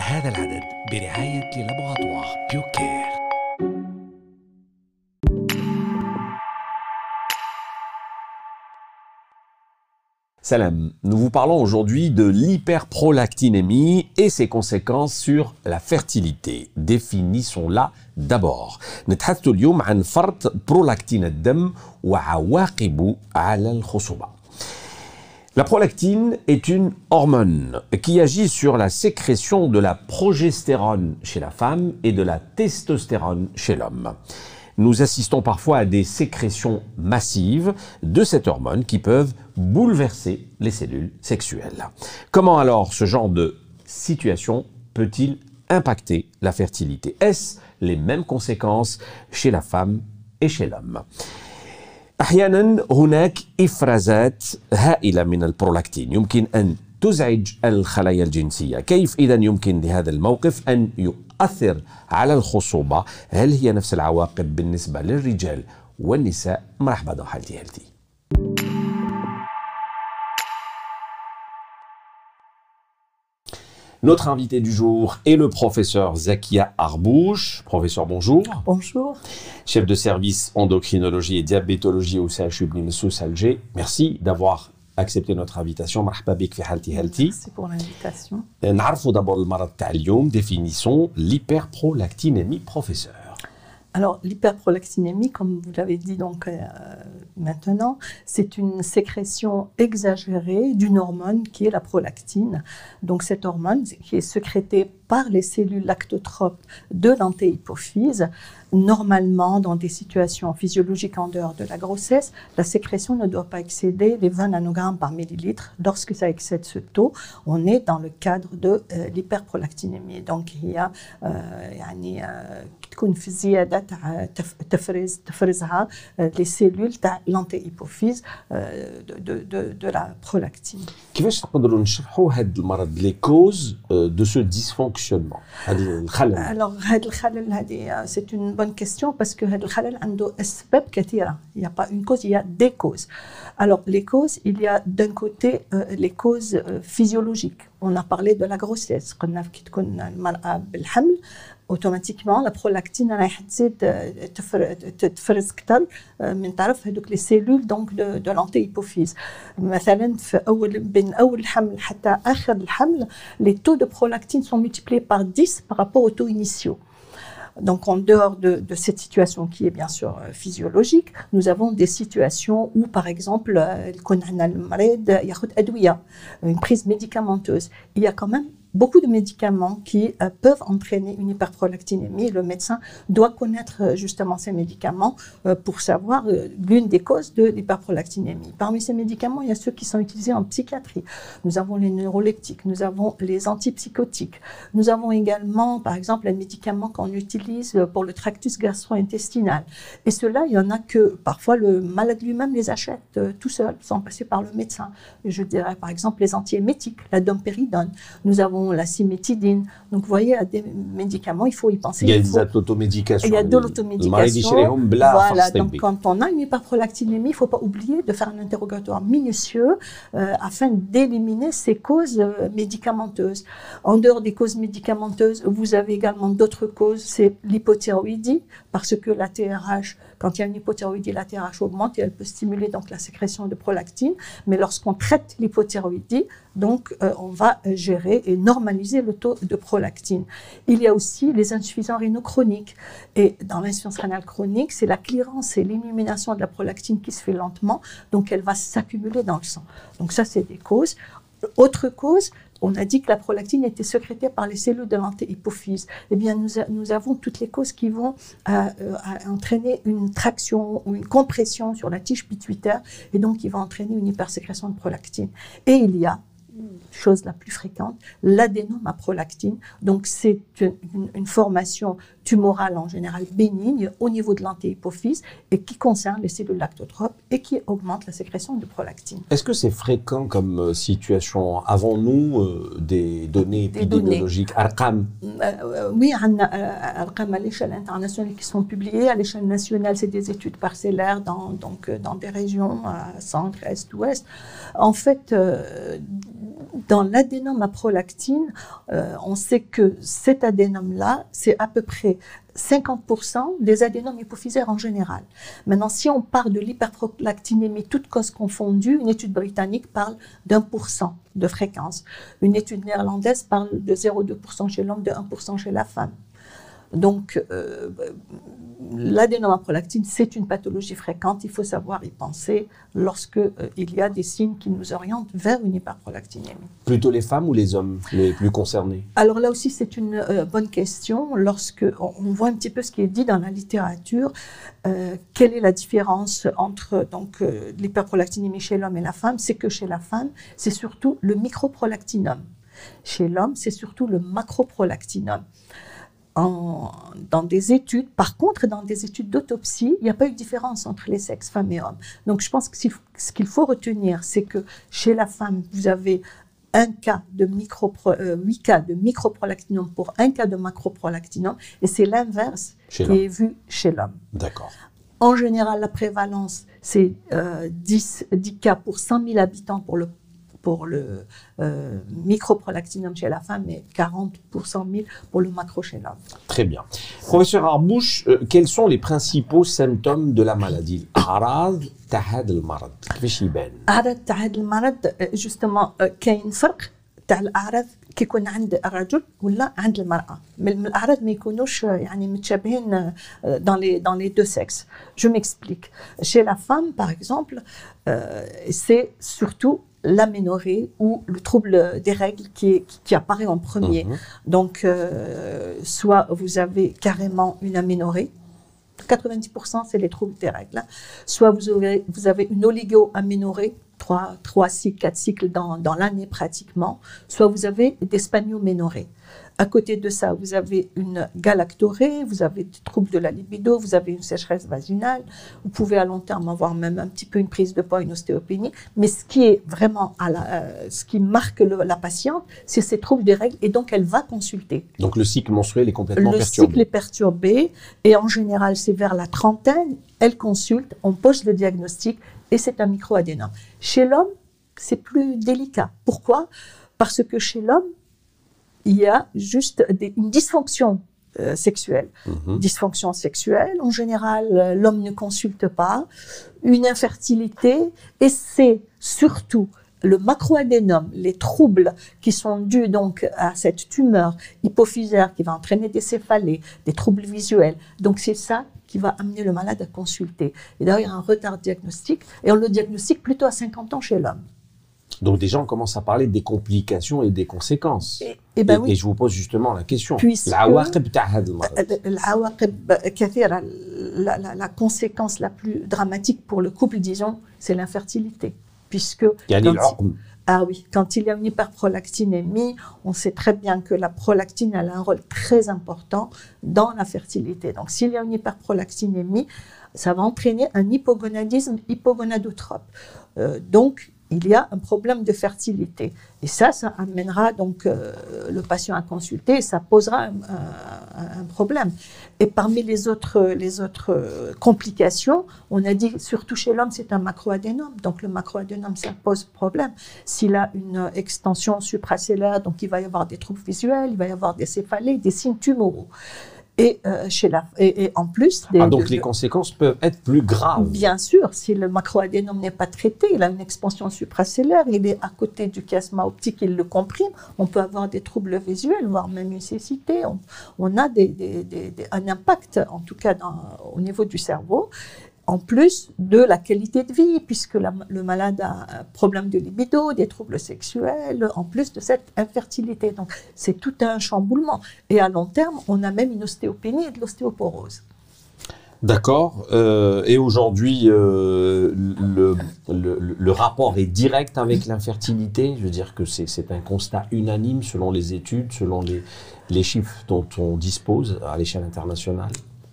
هذا العدد برعاية لابوراتوار بيوكير. Salam, nous vous parlons aujourd'hui de l'hyperprolactinémie et ses conséquences sur la fertilité. Définissons-la d'abord. نتحدث اليوم عن فرط برولاكتين الدم وعواقبه على الخصوبة. La prolactine est une hormone qui agit sur la sécrétion de la progestérone chez la femme et de la testostérone chez l'homme. Nous assistons parfois à des sécrétions massives de cette hormone qui peuvent bouleverser les cellules sexuelles. Comment alors ce genre de situation peut-il impacter la fertilité? Est-ce les mêmes conséquences chez la femme et chez l'homme? أحيانا هناك إفرازات هائلة من البرولاكتين يمكن أن تزعج الخلايا الجنسية. كيف إذا يمكن لهذا الموقف أن يؤثر على الخصوبة؟ هل هي نفس العواقب بالنسبة للرجال والنساء؟ مرحبا dans Healthy Healthy. Notre invité du jour est le professeur Zakia Arbouch. Professeur, bonjour. Bonjour. Chef de service endocrinologie et diabétologie au CHU Bni Messous Alger. Merci d'avoir accepté notre invitation. مرحبا بك في Healthy Healthy. Merci pour l'invitation. نعرفوا d'abord المرض تاع اليوم. Définissons l'hyperprolactinémie, professeur. Alors, l'hyperprolactinémie, comme vous l'avez dit donc maintenant, c'est une sécrétion exagérée d'une hormone qui est la prolactine. Donc, cette hormone qui est sécrétée par les cellules lactotropes de l'antéhypophyse. Normalement, dans des situations physiologiques en dehors de la grossesse, la sécrétion ne doit pas excéder les 20 nanogrammes par millilitre. Lorsque ça excède ce taux, on est dans le cadre de l'hyperprolactinémie. Donc, il y a تكون في زيادة تفرزها les cellules de l'antéhypophyse de la prolactine. كيفاش نقدروا نشرحوا هذا المرض les causes de ce dysfonctionnement هذا الخلل؟ Alors هذا الخلل هذه c'est une bonne question parce que هذا الخلل عنده أسباب كثيرة. Il n'y a pas une cause, il y a des causes. Alors les causes, il y a d'un côté les causes physiologiques. On a parlé de la grossesse. قلنا كي تكون المرأة بالحمل automatiquement la prolactine راح تزيد تفرز أكثر من طرف هذوك les cellules donc de l'antéhypophyse. مثلا في بين أول الحمل حتى آخر الحمل les taux de prolactine sont multipliés par 10 par rapport aux taux initiaux. Donc, en dehors de cette situation qui est bien sûr physiologique, nous avons des situations où, par exemple, une prise médicamenteuse. Il y a quand même beaucoup de médicaments qui peuvent entraîner une hyperprolactinémie. Le médecin doit connaître justement ces médicaments pour savoir l'une des causes de l'hyperprolactinémie. Parmi ces médicaments, il y a ceux qui sont utilisés en psychiatrie. Nous avons les neuroleptiques, nous avons les antipsychotiques. Nous avons également, par exemple, les médicaments qu'on utilise pour le tractus gastro-intestinal. Et ceux-là, il y en a que parfois le malade lui-même les achète tout seul, sans passer par le médecin. Je dirais par exemple les antiémétiques, la domperidone. Nous avons la cimétidine. Donc, vous voyez, à des médicaments, il faut y penser. Il y a des automédications. Il y a de l'automédication. Voilà, donc quand on a une hyperprolactinémie, il ne faut pas oublier de faire un interrogatoire minutieux afin d'éliminer ces causes médicamenteuses. En dehors des causes médicamenteuses, vous avez également d'autres causes, c'est l'hypothyroïdie, parce que la TRH, quand il y a une hypothyroïdie, la TRH augmente et elle peut stimuler donc la sécrétion de prolactine. Mais lorsqu'on traite l'hypothyroïdie, donc on va gérer et normaliser le taux de prolactine. Il y a aussi les insuffisants rénaux chroniques. Et dans l'insuffisance rénale chronique, c'est la clearance et l'élimination de la prolactine qui se fait lentement, donc elle va s'accumuler dans le sang. Donc ça, c'est des causes. Autre cause, on a dit que la prolactine était sécrétée par les cellules de l'antéhypophyse. Eh bien, nous avons toutes les causes qui vont entraîner une traction ou une compression sur la tige pituitaire et donc qui va entraîner une hypersécrétion de prolactine. Et il y a chose la plus fréquente, l'adénome à prolactine. Donc, c'est une formation tumorale en général bénigne au niveau de l'antéhypophyse et qui concerne les cellules lactotropes et qui augmente la sécrétion de prolactine. Est-ce que c'est fréquent comme situation? Avons-nous des données épidémiologiques? Arqam? Oui, Arqam à l'échelle internationale qui sont publiées. À l'échelle nationale, c'est des études parcellaires dans des régions centre, est, ouest. En fait, Dans l'adénome à prolactine, on sait que cet adénome-là, c'est à peu près 50% des adénomes hypophysaires en général. Maintenant, si on part de l'hyperprolactinémie, toutes causes confondues, une étude britannique parle d'1% de fréquence. Une étude néerlandaise parle de 0,2% chez l'homme, de 1% chez la femme. Donc, l'adénome à prolactine, c'est une pathologie fréquente. Il faut savoir y penser lorsque il y a des signes qui nous orientent vers une hyperprolactinémie. Plutôt les femmes ou les hommes les plus concernés? Alors là aussi, c'est une bonne question. Lorsque on voit un petit peu ce qui est dit dans la littérature, quelle est la différence entre l'hyperprolactinémie chez l'homme et la femme? C'est que chez la femme, c'est surtout le microprolactinum. Chez l'homme, c'est surtout le macroprolactinum. Dans des études, par contre, dans des études d'autopsie, il n'y a pas eu de différence entre les sexes, femmes et hommes. Donc, je pense que ce qu'il faut retenir, c'est que chez la femme, vous avez 8 cas de microprolactinum pour 1 cas de macroprolactinum, et c'est l'inverse qui est vu chez l'homme. D'accord. En général, la prévalence, c'est 10 cas pour 100 000 habitants pour le microprolactinum chez la femme et 40 pour 100 000 pour le macro chez l'homme. Très bien. Professeur Arbouch, quels sont les principaux symptômes de la maladie? أعراض تاع المرض كيفاش يبان؟ أعراض تاع المرض justement كاين فرق تاع الأعراض كي يكون عند الرجل ولا عند المرأة. من الأعراض ما يكونوش يعني متشابهين dans les deux sexes. Je m'explique. Chez la femme, par exemple, c'est surtout l'aménorrhée ou le trouble des règles qui apparaît en premier. Donc, soit vous avez carrément une aménorrhée, 90% c'est les troubles des règles, soit vous avez une oligo-aménorrhée, 3 cycles, 4 cycles dans l'année pratiquement, soit vous avez des spanioménorrhées. À côté de ça, vous avez une galactorrhée, vous avez des troubles de la libido, vous avez une sécheresse vaginale, vous pouvez à long terme avoir même un petit peu une prise de poids, une ostéopénie, mais ce qui est vraiment, ce qui marque la patiente, c'est ces troubles des règles et donc elle va consulter. Donc le cycle menstruel est complètement perturbé. Le cycle est perturbé et en général c'est vers la trentaine, elle consulte, on pose le diagnostic et c'est un microadénome. Chez l'homme, c'est plus délicat. Pourquoi? Parce que chez l'homme, il y a juste une dysfonction sexuelle. Dysfonction sexuelle, en général, l'homme ne consulte pas, une infertilité, et c'est surtout le macroadénome, les troubles qui sont dus donc à cette tumeur hypophysaire qui va entraîner des céphalées, des troubles visuels. Donc c'est ça qui va amener le malade à consulter. Et d'ailleurs, il y a un retard diagnostique, et on le diagnostique plutôt à 50 ans chez l'homme. Donc déjà, on commence à parler des complications et des conséquences. Et je vous pose justement la question. La conséquence la plus dramatique pour le couple, disons, c'est l'infertilité. Puisque quand il y a une hyperprolactinémie, on sait très bien que la prolactine a un rôle très important dans la fertilité. Donc s'il y a une hyperprolactinémie, ça va entraîner un hypogonadisme hypogonadotrope. Donc il y a un problème de fertilité. Et ça amènera donc le patient à consulter et ça posera un problème. Et parmi les autres complications, on a dit surtout chez l'homme, c'est un macroadénome. Donc le macroadénome, ça pose problème. S'il a une extension supracellulaire, donc il va y avoir des troubles visuels, il va y avoir des céphalées, des signes tumoraux. Et en plus... donc les conséquences peuvent être plus graves. Bien sûr, si le macroadénome n'est pas traité, il a une expansion supracellulaire, il est à côté du chiasma optique, il le comprime, on peut avoir des troubles visuels, voire même une cécité. On a un impact, en tout cas au niveau du cerveau, en plus de la qualité de vie, puisque le malade a un problème de libido, des troubles sexuels, en plus de cette infertilité. Donc, c'est tout un chamboulement. Et à long terme, on a même une ostéopénie et de l'ostéoporose. D'accord. Et aujourd'hui, le rapport est direct avec l'infertilité. Je veux dire que c'est un constat unanime selon les études, selon les chiffres dont on dispose à l'échelle internationale.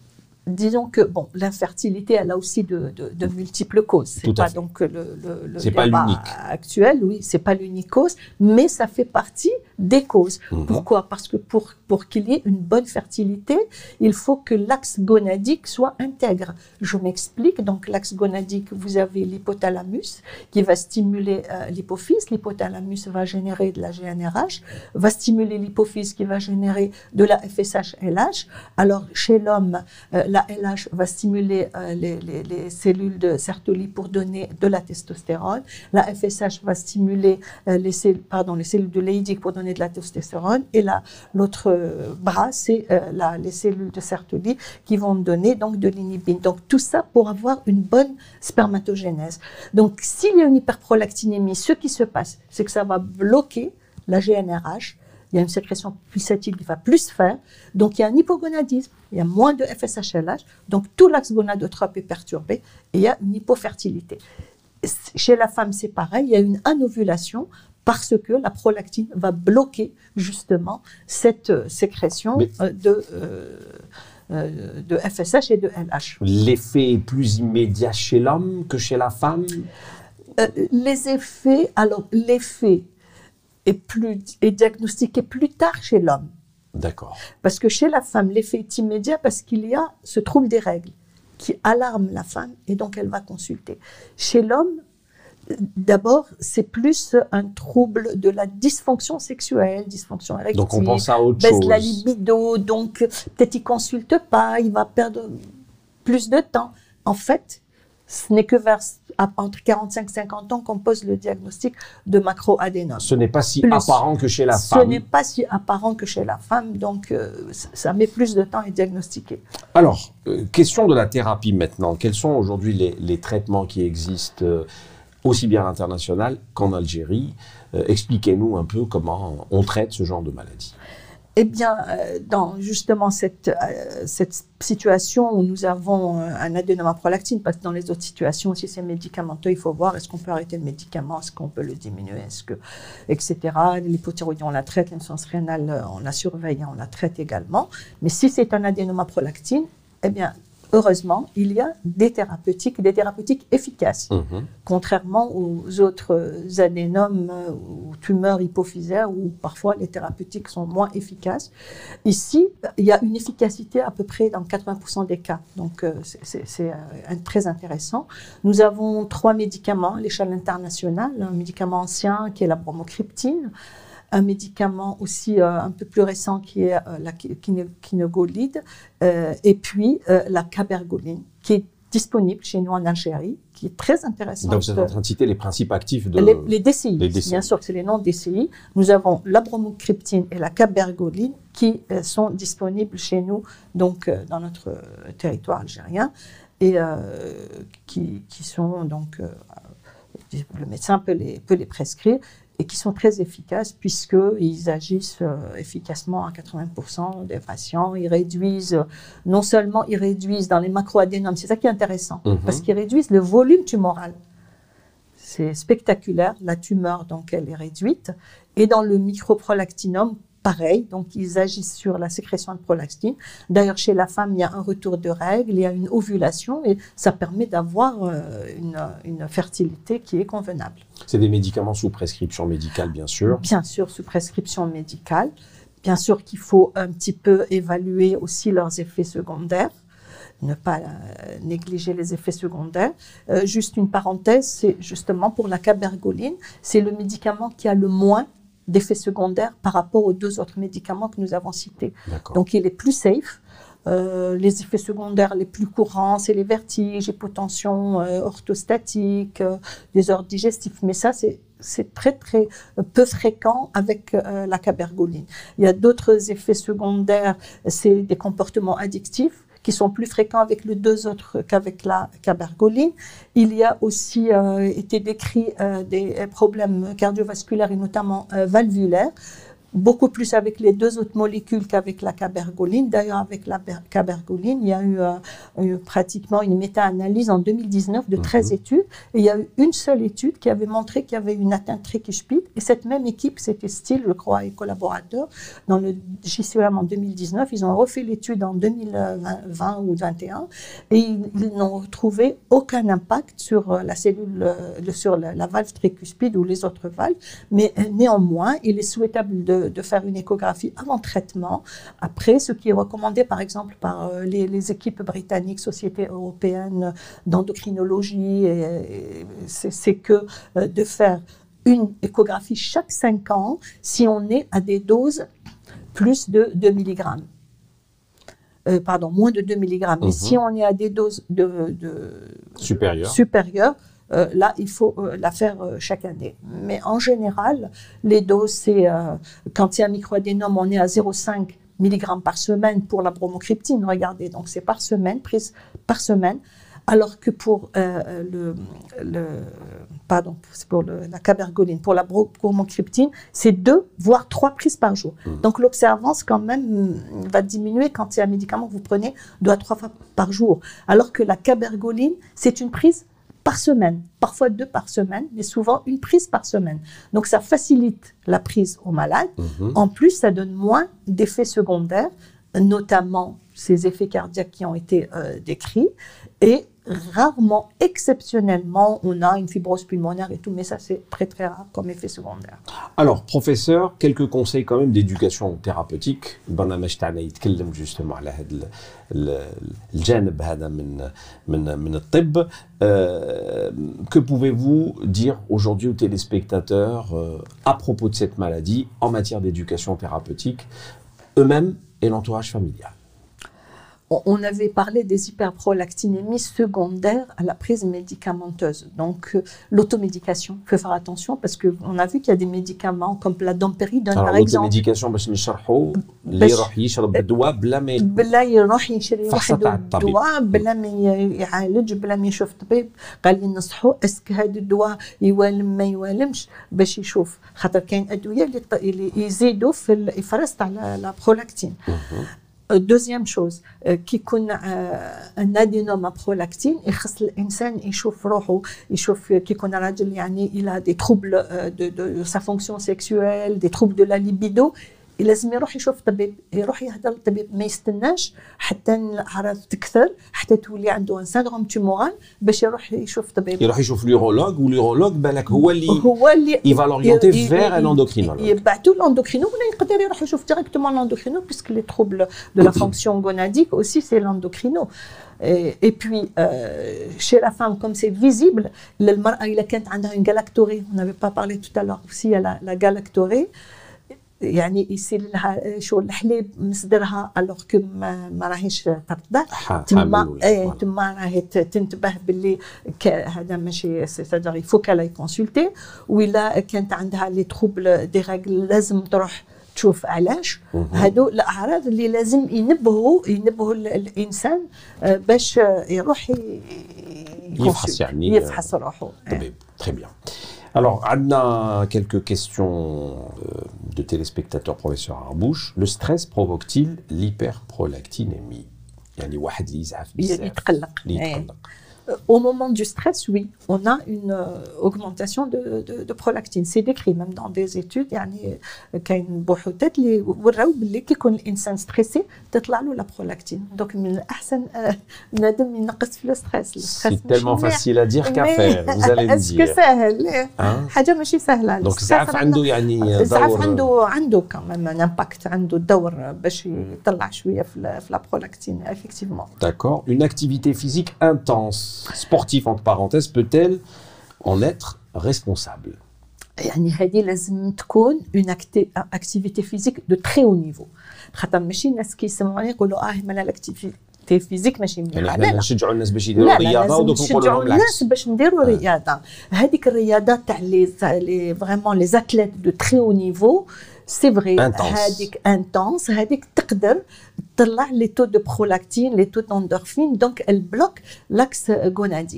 disons que bon, l'infertilité, elle a aussi de multiples causes. C'est pas donc le débat actuel, oui, c'est pas l'unique cause, mais ça fait partie des causes. Pourquoi? Parce que pour qu'il y ait une bonne fertilité, il faut que l'axe gonadique soit intègre. Je m'explique. Donc l'axe gonadique, vous avez l'hypothalamus qui va stimuler l'hypophyse. L'hypothalamus va générer de la GnRH, va stimuler l'hypophyse qui va générer de la FSH-LH. Alors chez l'homme, la LH va stimuler les cellules de Sertoli pour donner de la testostérone. La FSH va stimuler les cellules de Leydig pour donner de la testostérone. Et l'autre bras, c'est les cellules de Sertoli qui vont donner donc de l'inhibine. Donc tout ça pour avoir une bonne spermatogénèse. Donc s'il y a une hyperprolactinémie, ce qui se passe, c'est que ça va bloquer la GnRH. Il y a une sécrétion pulsative qui va plus faire, donc il y a un hypogonadisme, il y a moins de FSH-LH, donc tout l'axe gonadotrope est perturbé et il y a une hypofertilité. Chez la femme, c'est pareil, il y a une anovulation parce que la prolactine va bloquer justement cette sécrétion de FSH et de LH. L'effet est plus immédiat chez l'homme que chez la femme? L'effet est diagnostiqué plus tard chez l'homme. D'accord. Parce que chez la femme, l'effet est immédiat parce qu'il y a ce trouble des règles qui alarme la femme et donc elle va consulter. Chez l'homme, d'abord, c'est plus un trouble de la dysfonction sexuelle, dysfonction érectile. Donc on pense à autre chose. Baisse la libido, donc peut-être il ne consulte pas, il va perdre plus de temps. En fait, ce n'est que entre 45 et 50 ans qu'on pose le diagnostic de macroadénome. Ce n'est pas si apparent que chez la femme. Ce n'est pas si apparent que chez la femme, donc ça met plus de temps à être diagnostiqué. Alors, question de la thérapie maintenant. Quels sont aujourd'hui les traitements qui existent aussi bien à l'international qu'en Algérie? Expliquez-nous un peu comment on traite ce genre de maladie. Eh bien, dans justement cette situation où nous avons un adénome à prolactine, parce que dans les autres situations, si c'est médicamenteux, il faut voir est-ce qu'on peut arrêter le médicament, est-ce qu'on peut le diminuer, etc. L'hypothyroïdie, on la traite, l'insuffisance rénale, on la surveille, on la traite également. Mais si c'est un adénome à prolactine, eh bien, heureusement, il y a des thérapeutiques efficaces, contrairement aux autres adénomes ou tumeurs hypophysaires où parfois les thérapeutiques sont moins efficaces. Ici, il y a une efficacité à peu près dans 80% des cas, donc c'est très intéressant. Nous avons 3 médicaments à l'échelle internationale, un médicament ancien qui est la bromocriptine, un médicament aussi un peu plus récent qui est la quinogolide, et puis la cabergoline, qui est disponible chez nous en Algérie, qui est très intéressante. Donc vous êtes en train de citer les principes actifs de... Les DCI, bien sûr que c'est les noms DCI. Nous avons la bromocriptine et la cabergoline qui sont disponibles chez nous, donc dans notre territoire algérien, et qui sont donc... le médecin peut les prescrire, et qui sont très efficaces puisqu'ils agissent efficacement à 80% des patients. Ils réduisent, non seulement ils réduisent dans les macroadénomes, c'est ça qui est intéressant, parce qu'ils réduisent le volume tumoral. C'est spectaculaire, la tumeur, donc elle est réduite. Et dans le microprolactinome, pareil, donc ils agissent sur la sécrétion de prolactine. D'ailleurs, chez la femme, il y a un retour de règles, il y a une ovulation et ça permet d'avoir une fertilité qui est convenable. C'est des médicaments sous prescription médicale, bien sûr. Bien sûr, sous prescription médicale. Bien sûr qu'il faut un petit peu évaluer aussi leurs effets secondaires, ne pas négliger les effets secondaires. Juste une parenthèse, c'est justement pour la cabergoline, c'est le médicament qui a le moins d'effets secondaires par rapport aux 2 autres médicaments que nous avons cités. Donc, il est plus safe. Les effets secondaires les plus courants, c'est les vertiges, hypotension orthostatique, désordre digestif. Mais ça, c'est très, très peu fréquent avec la cabergoline. Il y a d'autres effets secondaires, c'est des comportements addictifs qui sont plus fréquents avec les 2 autres qu'avec la cabergoline. Il y a aussi été décrit des problèmes cardiovasculaires et notamment valvulaires. beaucoup plus avec les deux autres molécules qu'avec la cabergoline. D'ailleurs, avec la cabergoline, il y a eu pratiquement une méta-analyse en 2019 de 13 études. Et il y a eu une seule étude qui avait montré qu'il y avait une atteinte tricuspide. Et cette même équipe, c'était Steele, je crois, et collaborateurs, dans le JCEM en 2019. Ils ont refait l'étude en 2020 ou 2021 et ils n'ont trouvé aucun impact sur la cellule, sur la valve tricuspide ou les autres valves. Mais néanmoins, il est souhaitable de faire une échographie avant traitement. Après, ce qui est recommandé, par exemple, par les équipes britanniques, sociétés européennes d'endocrinologie, c'est que de faire une échographie chaque 5 ans si on est à des doses plus de 2 mg. Moins de 2 mg. Mais si on est à des doses supérieures, là, il faut la faire chaque année. Mais en général, les doses, c'est quand il y a un microadénome, on est à 0,5 mg par semaine pour la bromocriptine. Regardez, donc c'est par semaine, prise par semaine. Alors que pour la cabergoline, pour la bromocriptine, c'est 2 voire 3 prises par jour. Donc l'observance quand même va diminuer quand c'est un médicament que vous prenez 2 à 3 fois par jour. Alors que la cabergoline, c'est une prise par semaine, parfois 2 par semaine, mais souvent une prise par semaine. Donc ça facilite la prise aux malades. En plus, ça donne moins d'effets secondaires, notamment ces effets cardiaques qui ont été décrits. Et rarement, exceptionnellement, on a une fibrose pulmonaire et tout, mais ça c'est très très rare comme effet secondaire. Alors, professeur, quelques conseils quand même d'éducation thérapeutique. البرنامج تاعنا يتكلم justement على هذا الجانب هذا من الطب. Que pouvez-vous dire aujourd'hui aux téléspectateurs à propos de cette maladie en matière d'éducation thérapeutique, eux-mêmes et l'entourage familial? On avait parlé des hyperprolactinémies secondaires à la prise médicamenteuse. Donc, l'automédication, il faut faire attention parce qu'on a vu qu'il y a des médicaments comme la dompéridone, par exemple. L'automédication, باش نشرحوا اللي يروح يشرب الدواء بلا يروح يشري واحد الدواء بلا ما يعالج بلا ما يشوف طبيب قال لي نصحوا اسك هذا الدواء يوالم ما يوالمش باش يشوف خاطر كاين ادويه اللي يزيدوا في الافراز تاع لا برولاكتين. Deuxième chose, qui يكون un adénome à prolactine, يخص الإنسان يشوف روحه يشوف كي يكون راجل يعني il a des troubles de sa fonction sexuelle, des troubles de la libido. لازم يروح يشوف طبيب، يروح يهضر للطبيب، ما يستناش حتى الاعراض تكثر حتى تولي عنده ان سيندروم تيمورال باش يروح يشوف طبيب. يروح يشوف ليورولوج والليورولوج بالك هو اللي يفالوريونتي فير ان اندوكرينولوج. يبعثوا لاندوكرينو ولا يقدر يروح يشوف ديريكتومون لاندوكرينو باسكو لي troubles de la fonction gonadique aussi c'est l'endocrino. Et puis, chez la femme, comme c'est visible, المرأة إذا كانت عندها une galactorrhée, on n'avait pas parlé tout à l'heure aussi, il y a la galactorrhée. يعني يصير لها شو الحليب مصدرها الوغ كو ما راهيش ترضع تما راهي تنتبه باللي هذا ماشي سيتادير يفو كالا يكونسلتي ولا كانت عندها لي تروبل دي راغل لازم تروح تشوف علاش. هادو الاعراض اللي لازم ينبهوا الانسان باش يروح يفحص روحه. Très bien. Alors, on a quelques questions de téléspectateurs, professeur Arbouche. Le stress provoque-t-il l'hyperprolactinémie? يعني واحد اللي يزعف بزاف يتقلق. Au moment du stress, oui, on a une augmentation de prolactine. C'est décrit même dans des études. يعني كاين بحوثات اللي وراو باللي كي يكون الانسان ستريسي تطلع له لا برولاكتين. دونك من الاحسن بنادم ينقص في لو ستريس. C'est tellement facile à dire qu'à faire, vous allez me dire. اسكو ساهل؟ حاجه ماشي سهله. دونك الزعف عنده يعني دور. الزعف عنده كمان ان امباكت، عنده دور باش يطلع شويه في لا برولاكتين effectivement. D'accord. Une activité physique intense, sportive entre parenthèses, peut-elle en être responsable? يعني هذه لازم تكون une activité physique de très haut niveau. خاطر ماشي الناس كيسمعوني يقولوا مالا لاكتيفيتي فيزيك ماشي مليحه. يعني حنا نشجعوا الناس باش يديروا الرياضه ودوك نقولوا لهم العكس. الناس باش نديروا الرياضه. هذيك الرياضات تاع لي فريمون لي اتليت دو très haut niveau. سي فري هذيك انتونس، هذيك تقدر تطلع لي تو دو برولactine، لي تو دوندورفين، دونك البلوك لاكس غوناديك.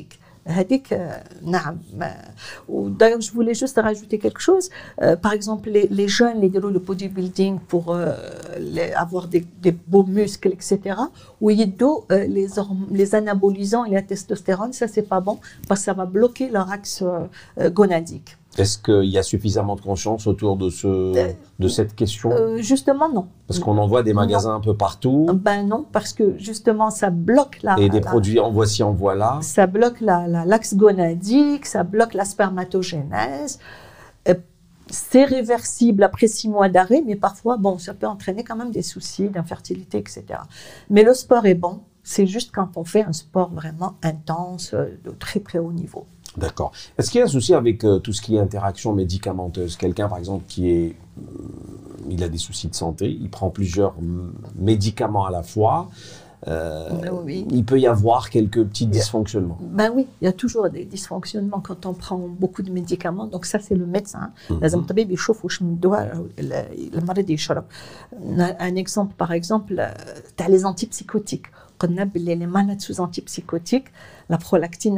D'ailleurs, je voulais juste rajouter quelque chose. Par exemple, les jeunes, les le bodybuilding pour avoir des beaux muscles, etc. Ou les anabolisants et la testostérone, ça c'est pas bon parce que ça va bloquer leur axe gonadique. Est-ce qu'il y a suffisamment de conscience autour de cette question? Justement, non. Parce qu'on en voit des magasins un peu partout. Ben non, parce que justement, ça bloque Et des produits en voici, en voilà. Ça bloque l'axe gonadique, ça bloque la spermatogénèse. C'est réversible après 6 mois d'arrêt, mais parfois, bon, ça peut entraîner quand même des soucis d'infertilité, etc. Mais le sport est bon. C'est juste quand on fait un sport vraiment intense, de très très haut niveau. D'accord. Est-ce qu'il y a un souci avec tout ce qui est interaction médicamenteuse? Quelqu'un, par exemple, il a des soucis de santé, il prend plusieurs médicaments à la fois. Oui. Il peut y avoir quelques petits dysfonctionnements. Ben oui, il y a toujours des dysfonctionnements quand on prend beaucoup de médicaments. Donc ça, c'est le médecin. Un exemple, par exemple, tu as les antipsychotiques. Les malades sous antipsychotiques, la prolactine,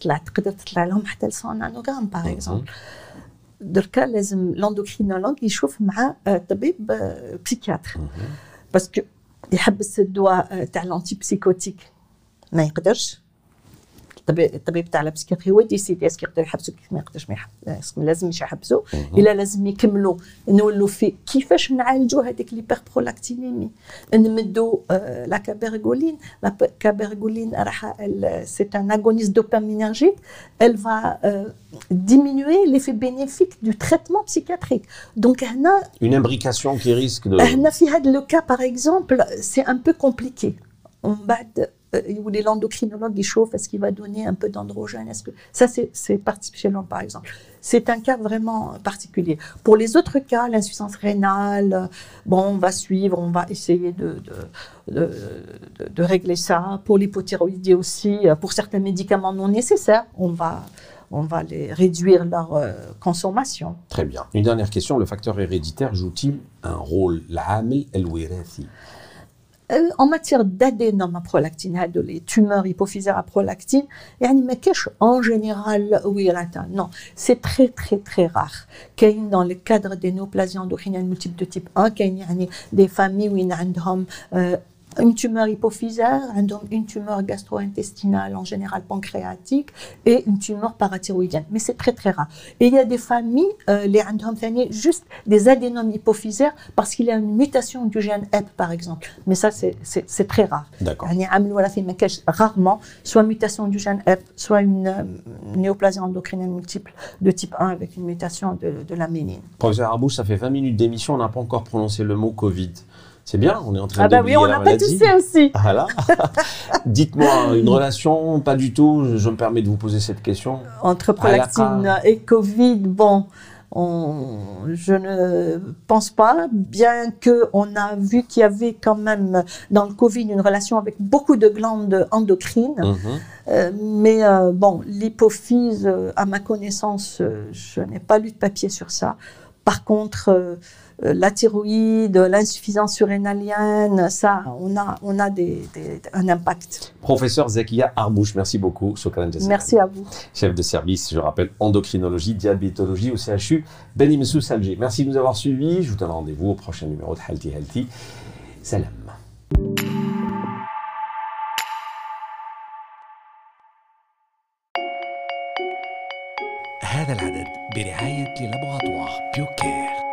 par exemple. دركا لازم l'endocrinologue يشوف مع طبيب psychiatre parce que يحبس الدواء تاع الانتيبسيكوتيك ما يقدرش الطبيب تاع البسيكياتري هو يديسيدي اسكو يقدر يحبسو كيف ما يقدرش ما يحبسو لازمش يحبسو الا لازم يكملوا نولوا في كيفاش نعالجوا هذيك ليبربرولاكتينيمي نمدوا لا كابرغولين راح سي ان اغونيست دوبامينرجيك elle va diminuer l'effet bénéfique du traitement psychiatrique. Donc هنا une imbrication qui risque de هنا في هذا le cas par exemple c'est un peu compliqué. On بعد l'endocrinologue il chauffe, est-ce qu'il va donner un peu d'androgène, est-ce que ça c'est particulièrement par exemple. C'est un cas vraiment particulier. Pour les autres cas, l'insuffisance rénale, bon, on va suivre, on va essayer de régler ça. Pour l'hypothyroïdie aussi, pour certains médicaments non nécessaires, on va les réduire leur consommation. Très bien. Une dernière question, le facteur héréditaire joue-t-il un rôle? العامل الوراثي. En matière d'adénome à prolactine, les tumeurs hypophysaires à prolactine, en général, non, c'est très très très rare. Dans le cadre des néoplasies endocriniennes multiples de type 1, des familles où il y a une tumeur hypophysaire, une tumeur gastro-intestinale, en général pancréatique, et une tumeur parathyroïdienne. Mais c'est très très rare. Et il y a des familles, les juste des adénomes hypophysaires parce qu'il y a une mutation du gène HEP, par exemple. Mais ça, c'est très rare. D'accord. Rarement, soit mutation du gène HEP, soit une néoplasie endocrinienne multiple de type 1 avec une mutation de la ménine. Professeur Arbouche, ça fait 20 minutes d'émission, on n'a pas encore prononcé le mot Covid. C'est bien, on est en train d'oublier oui, on la n'a maladie. pas toussé aussi. Voilà. Dites-moi, une relation, pas du tout, je me permets de vous poser cette question. Entre prolactine et Covid, bon, je ne pense pas, bien qu'on a vu qu'il y avait quand même dans le Covid une relation avec beaucoup de glandes endocrines. Mais bon, l'hypophyse, à ma connaissance, je n'ai pas lu de papier sur ça. Par contre, la thyroïde, l'insuffisance surrénalienne, ça, on a un impact. Professeur Zakia Arbouche, merci beaucoup. Merci à vous. Chef de service, je rappelle, endocrinologie, diabétologie au CHU Beni Messous Alger. Merci de nous avoir suivis. Je vous donne rendez-vous au prochain numéro de Healthy Healthy. Salam. هذا العدد برعاية لابوغاتوار بيوكير.